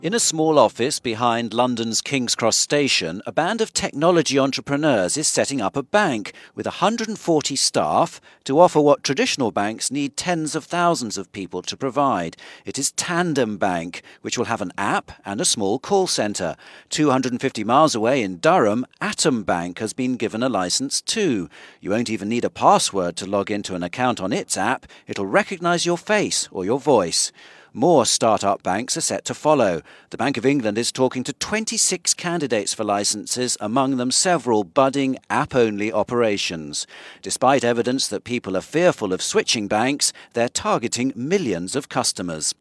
In a small office behind London's King's Cross station, a band of technology entrepreneurs is setting up a bank with 140 staff to offer what traditional banks need tens of thousands of people to provide. It is Tandem Bank, which will have an app and a small call centre. 250 miles away in Durham, Atom Bank has been given a licence too. You won't even need a password to log into an account on its app. It'll recognise your face or your voice. More start-up banks are set to follow. The Bank of England is talking to 26 candidates for licences, among them several budding app-only operations. Despite evidence that people are fearful of switching banks, they're targeting millions of customers.